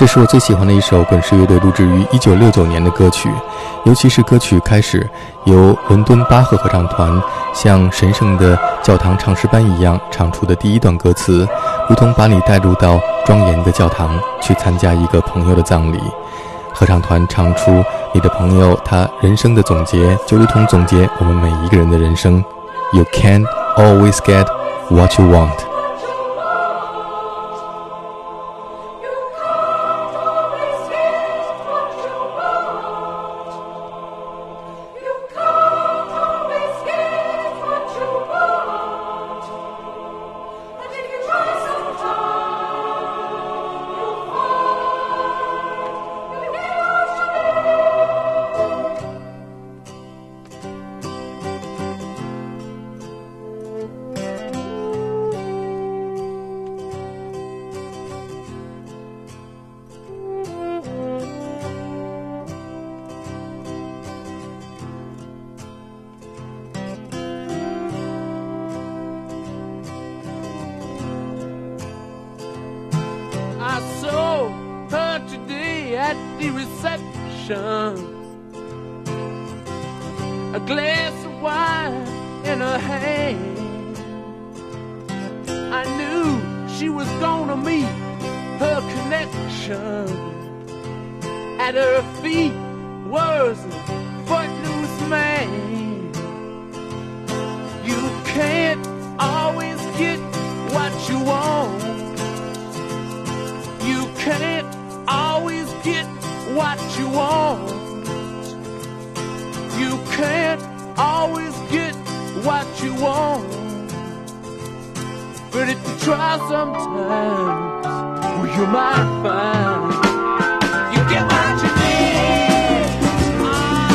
这是我最喜欢的一首滚石乐队录制于1969年的歌曲，尤其是歌曲开始由伦敦巴赫合唱团像神圣的教堂唱诗班一样唱出的第一段歌词，如同把你带入到庄严的教堂去参加一个朋友的葬礼。合唱团唱出你的朋友他人生的总结，就如同总结我们每一个人的人生。 You can't always get what you want。 I saw her today at the reception, a glass of wine in her hand. I knew she was gonna meet her connection. At her feet was a footloose man. You can't always get what you want. You can't always get what you want. You can't always get what you want. But if you try sometimes, well, you might find you get what you need. Oh,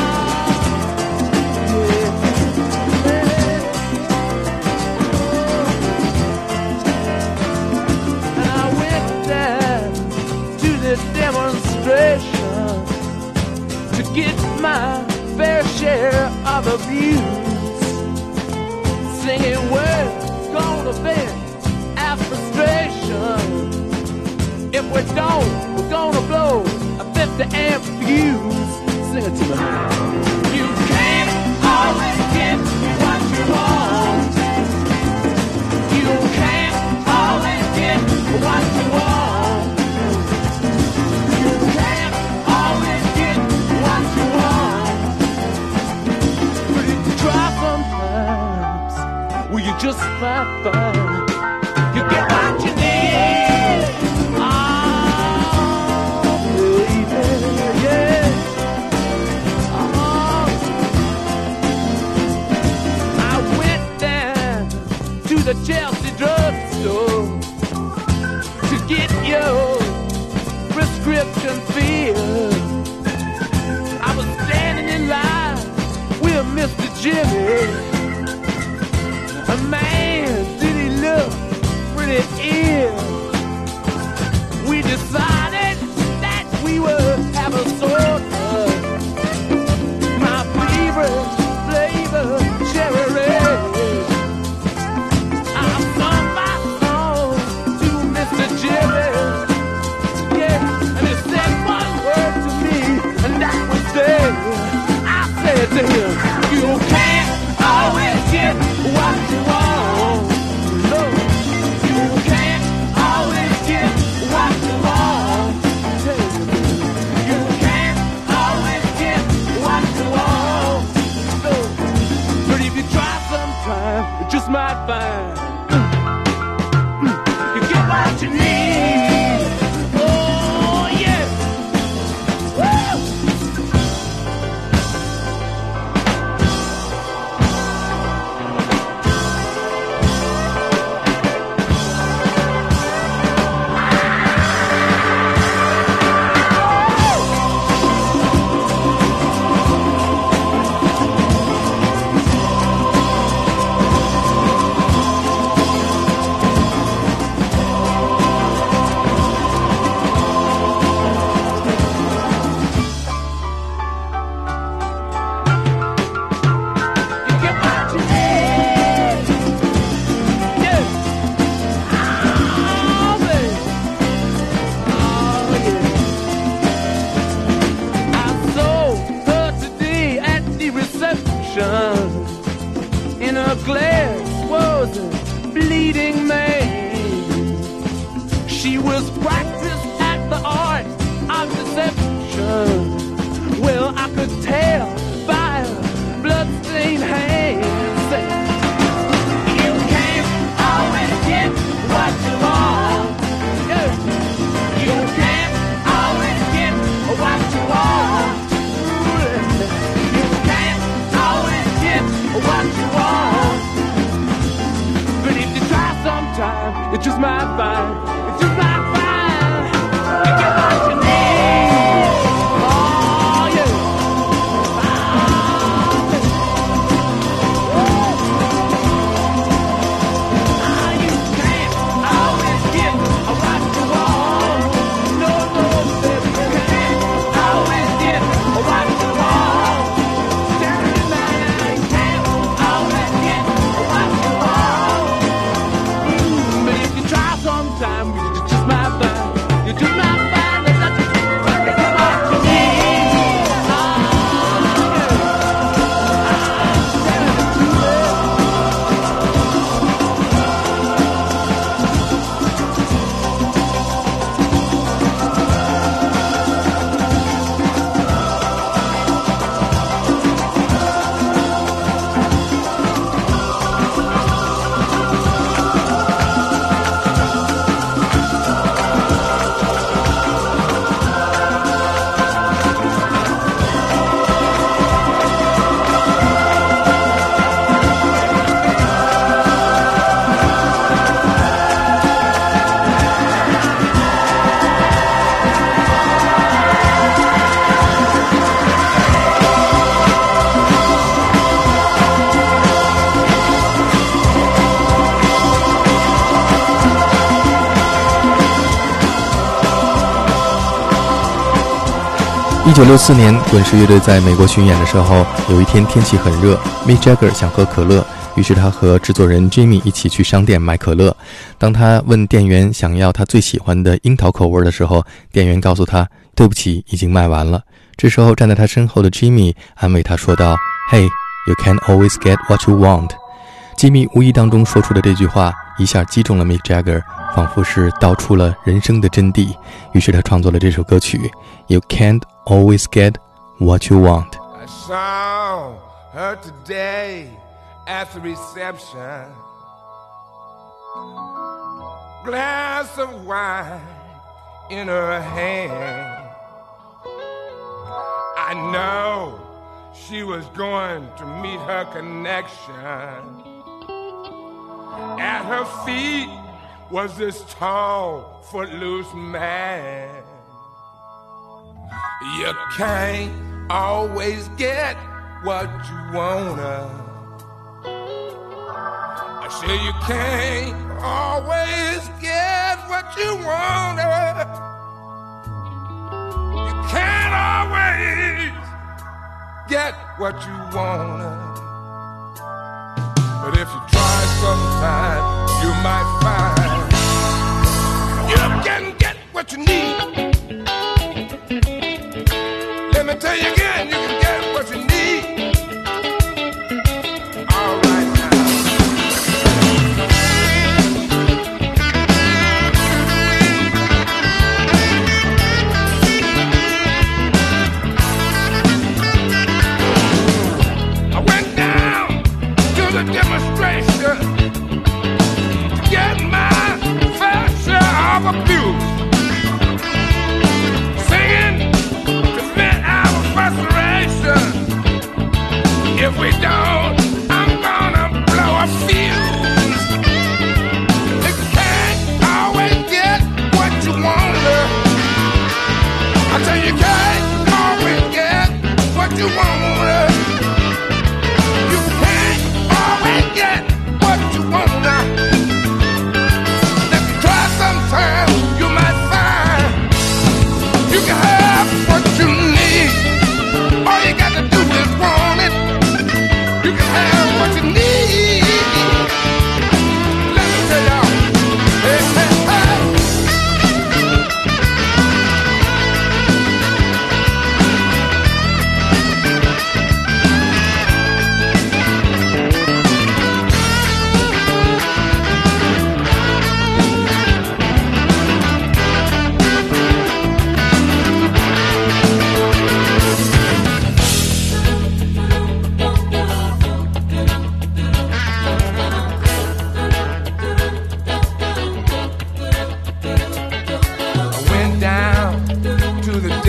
yeah. And I went down to the demonstration to get my fair share of abuse, singing we're gonna vent our frustration. If we don't, we're gonna blow a 50 amp fuse. Sing it to me. You can't always get what you want. You can't always get what you want. You can't always get what you want. But if you try sometimes, well, you just might find you get what you need. Oh, baby, yeah. Oh, I went down to the Chelsea drugstore to get your prescription filled. I was standing in line with Mr. Jimmy. A man, did he look pretty ill? We decided that we would have a soda. My favorite flavor, cherry red. I sung my song to Mr. Jimmy. Yeah, and he said one word to me, and that was there. I said to him, you can't always get what you want. No, you can't always get what you want. You can't always get what you want. No, but if you try sometime, you just might find you get what you need. Oh yeah. Woo! She was practiced at the art of deception. Well, I could tell by her bloodstained hands. You can't always get what you want. You can't always get what you want. You can't always get what you want. But if you try sometime, you just might find, you just might find, you get what you need. Oh yeah. You can't always get what you want. No, no, baby, you can't always get what you want. You can't always get what you want. But if you try sometime, you just might find, you just might find that you get what you need. 1964年，滚石乐队在美国巡演的时候，有一天天气很热 ，Mick Jagger 想喝可乐，于是他和制作人 Jimmy 一起去商店买可乐。当他问店员想要他最喜欢的樱桃口味的时候，店员告诉他：“对不起，已经卖完了。”这时候站在他身后的 Jimmy 安慰他说道 ：“Hey, you can't always get what you want。” Jimmy 无意当中说出的这句话，一下击中了 Mick Jagger， 仿佛是道出了人生的真谛。于是他创作了这首歌曲 You can't always get what you want. I saw her today at the reception. Glass of wine in her hand. I know she was going to meet her connection. At her feet was this tall, footloose man. You can't always get what you wanna. I say you can't always get what you wanna. You can't always get what you wanna. But if you try sometime, you might find you can get what you need. Let me tell you again, you can get what you need. All right now. I went down to the demonstration to get my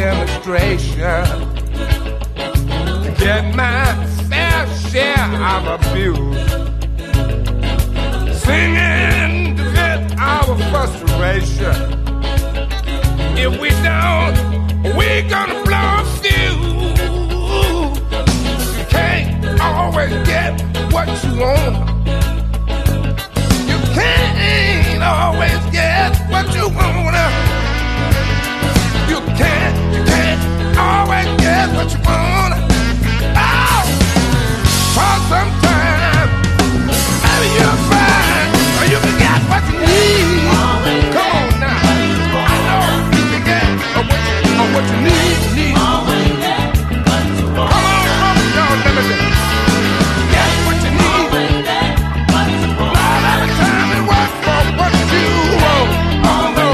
demonstration to get my fair share of abuse. Singing to vent our frustration. If we don't, we're gonna blow a fuse. You can't always get what you want. You can't always get what you want. You can't always get what you want. Oh, for some time, maybe you'll find you can get what you need. Come on now, I know you can get what you need. Come on, don't let me get what you need. Not every time it works for what you want. Oh no.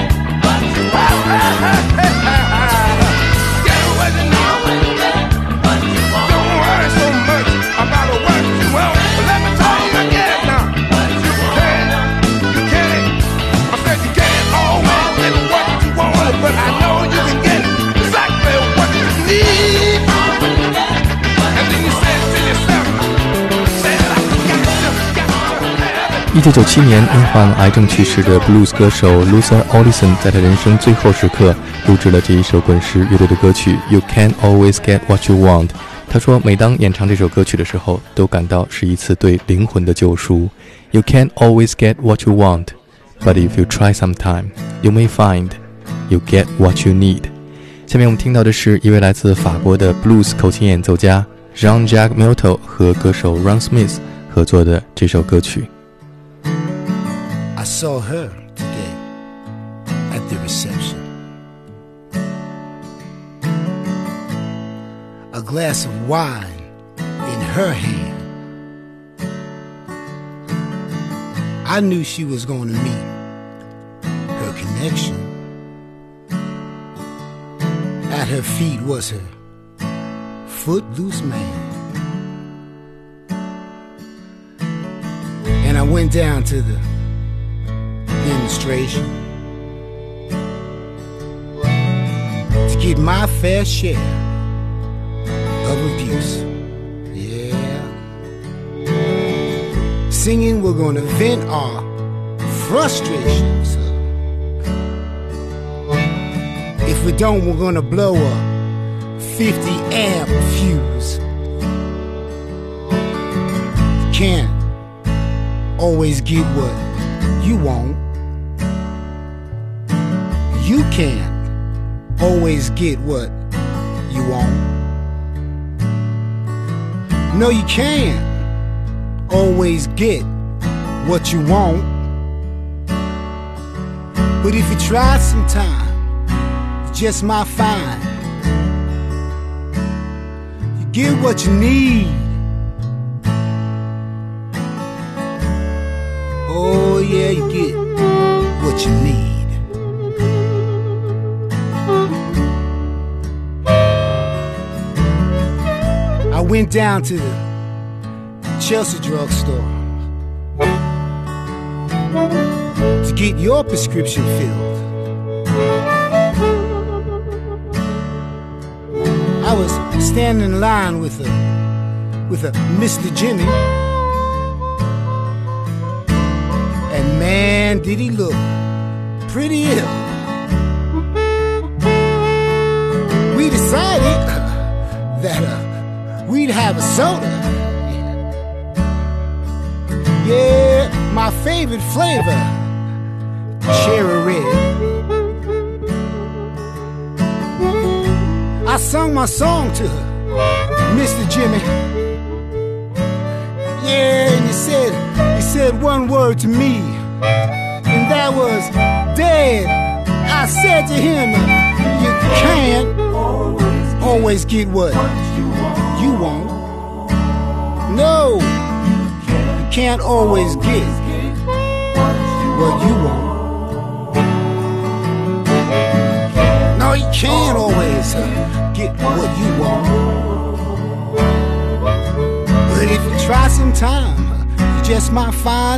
Get what you need. Don't worry so much about what you want. But let me tell you again now. You can't. I said you can't always get what you want, but I know you can get exactly what you need. And then you said to yourself, say that I got to have it. 1997年因患癌症去世的 blues 歌手 Luther Allison 在他人生最后时刻录制了这一首滚石乐队的歌曲 You Can't Always Get What You Want。 他说每当演唱这首歌曲的时候都感到是一次对灵魂的救赎。 You can't always get what you want, but if you try sometime, you may find you get what you need。 下面我们听到的是一位来自法国的 blues 口琴演奏家 Jean-Jacques Milteau 和歌手 Ron Smith 合作的这首歌曲。 I saw her today at the reception. A glass of wine in her hand. I knew she was going to meet her connection. At her feet was her footloose man. And I went down to the demonstration to get my fair share of abuse. Yeah. Singing, we're gonna vent our frustrations. If we don't, we're gonna blow a 50 amp fuse. Can't always get what you want. You can't always get what you want. No, you can't always get what you want. But if you try sometime, you just might find you get what you need. Oh yeah, you get what you need. I went down to the Chelsea drugstore to get your prescription filled. I was standing in line with a Mr. Jimmy, and man, did he look pretty ill. We decided that we'd have a soda. Yeah, my favorite flavor, cherry red. I sung my song to Mr. Jimmy. Yeah, and he said one word to me, and that was dead. I said to him, you can't always get what you want. No, you can't always get what you want. No, you can't always get what you want. But if you try sometime, you just might find,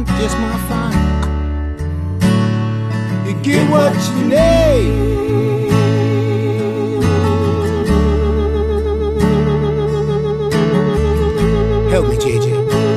you get what you need. Help me, JJ.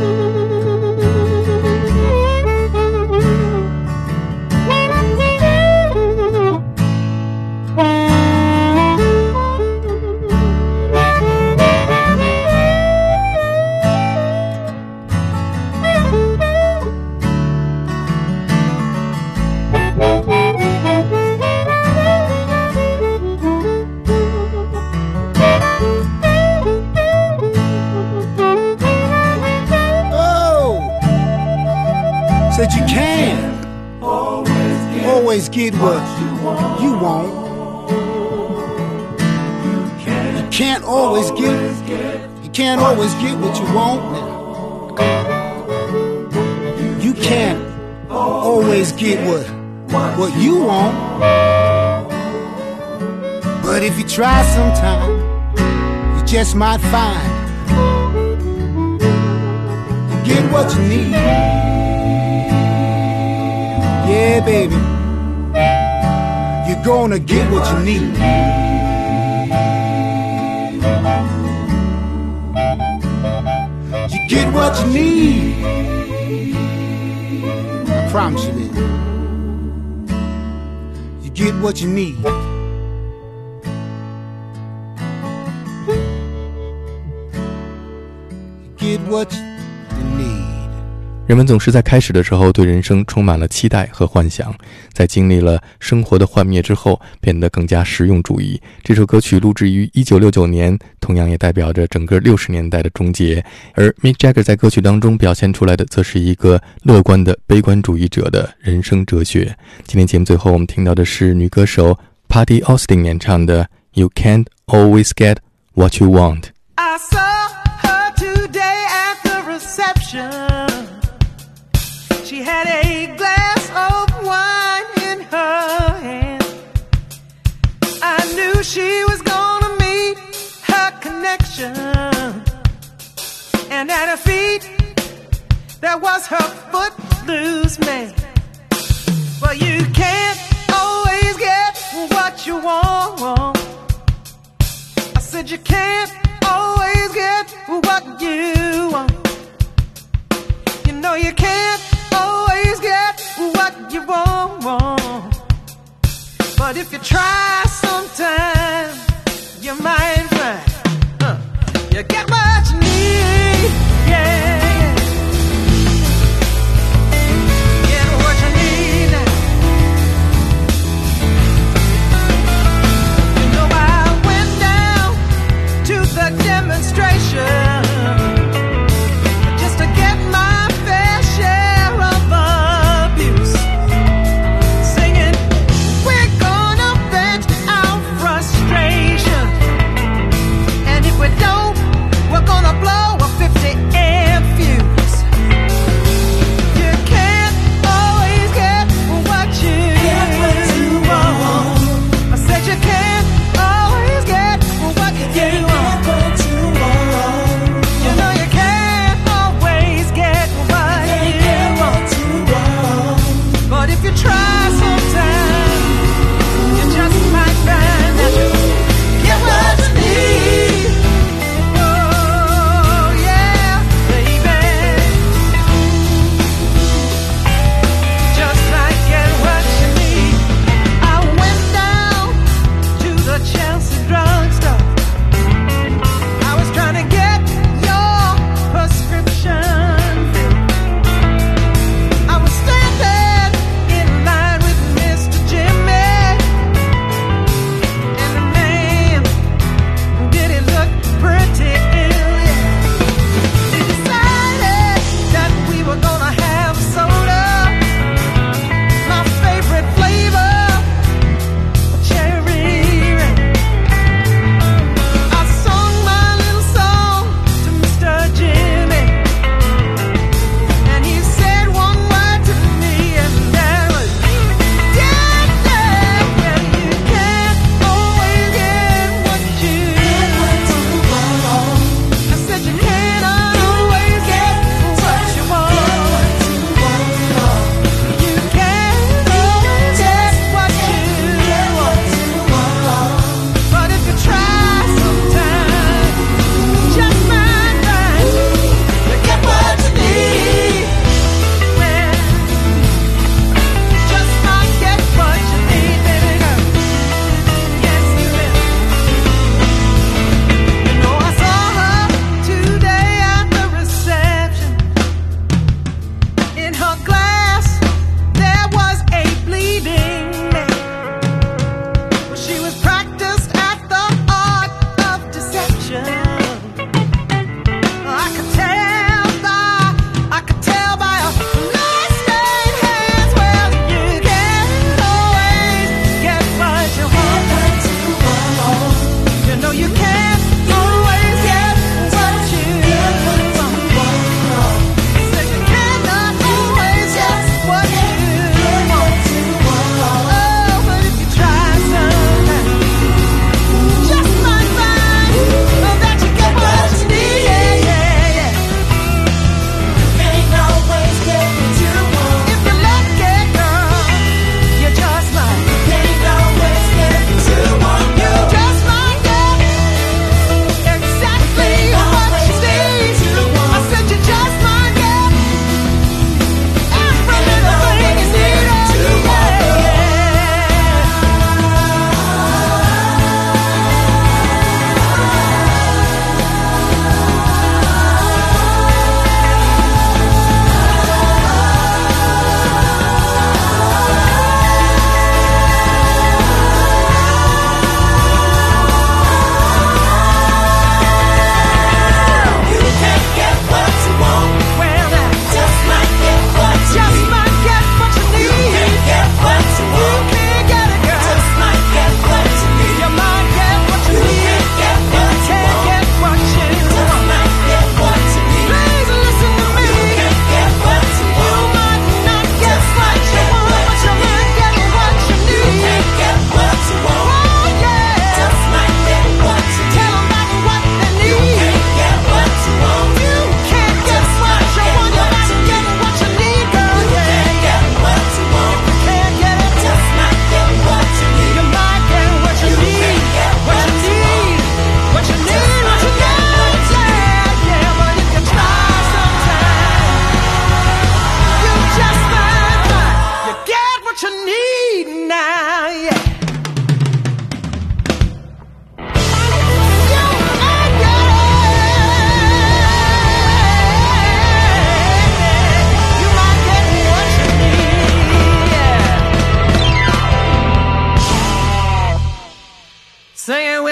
Said you can't always get what you want. You can't always get what you want. You can't always get what you want. But if you try sometime, you just might find you get what you need. Yeah, baby, you're gonna get what you need. You get what you need. I promise you that. You get what you need. You get what you need. 人们总是在开始的时候对人生充满了期待和幻想，在经历了生活的幻灭之后，变得更加实用主义。这首歌曲录制于1969年，同样也代表着整个60年代的终结。而 Mick Jagger 在歌曲当中表现出来的，则是一个乐观的悲观主义者的人生哲学。今天节目最后我们听到的是女歌手 Patti Austin 演唱的 You Can't Always Get What You Want。 I saw her today at the reception.She had a glass of wine in her hand. I knew she was gonna meet her connection. And at her feet, there was her footloose man. Well, you can't always get what you want. I said you can't always get what you want. You know you can't.Always get what you want. But if you try sometime, you might find you get what you need. Yeah, get what you need now. You know I went down to the demonstration.Just to get my fair share of abuse, singing, we're gonna vent our frustration. And if we don't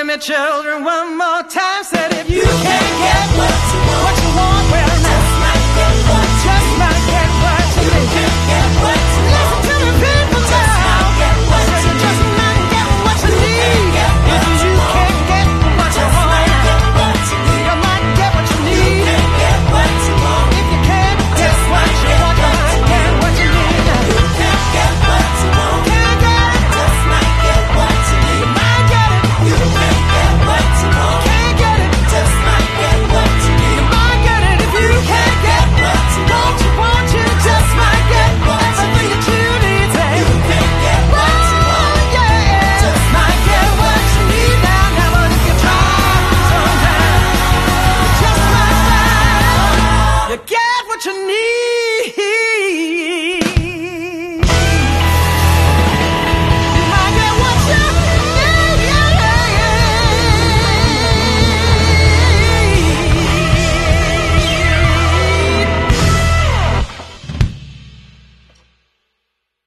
me children one more time. Said if you can't get what you want,